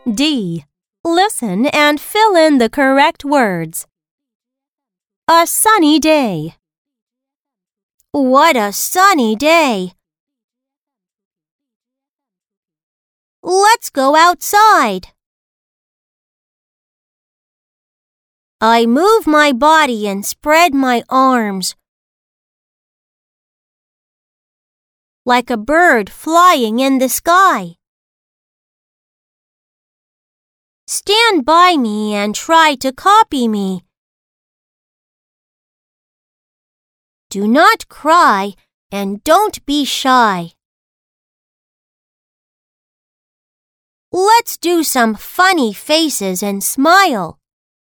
D. Listen and fill in the correct words. A sunny day. What a sunny day! Let's go outside. I move my body and spread my arms. Like a bird flying in the sky. Stand by me and try to copy me. Do not cry and don't be shy. Let's do some funny faces and smile.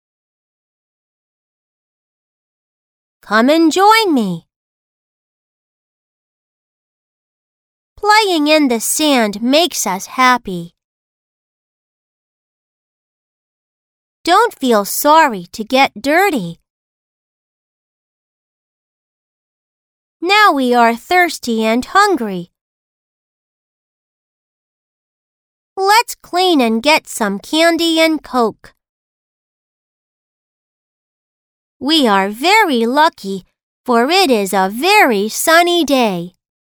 Come and join me. Playing in the sand makes us happy. Don't feel sorry to get dirty. Now we are thirsty and hungry. Let's clean and get some candy and Coke. We are very lucky, for it is a very sunny day.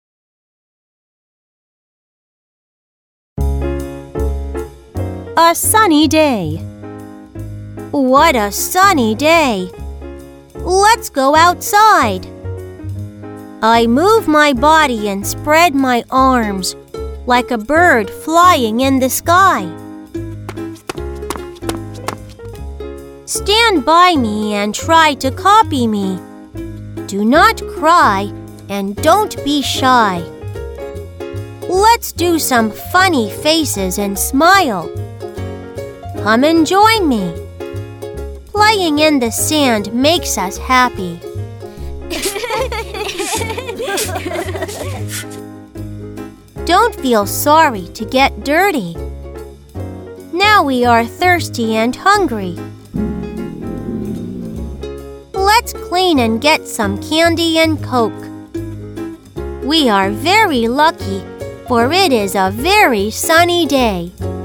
A sunny day. What a sunny day! Let's go outside. I move my body and spread my arms, like a bird flying in the sky. Stand by me and try to copy me. Do not cry and don't be shy. Let's do some funny faces and smile. Come and join me. Playing in the sand makes us happy. Don't feel sorry to get dirty. Now we are thirsty and hungry. Let's clean and get some candy and Coke. We are very lucky, for it is a very sunny day.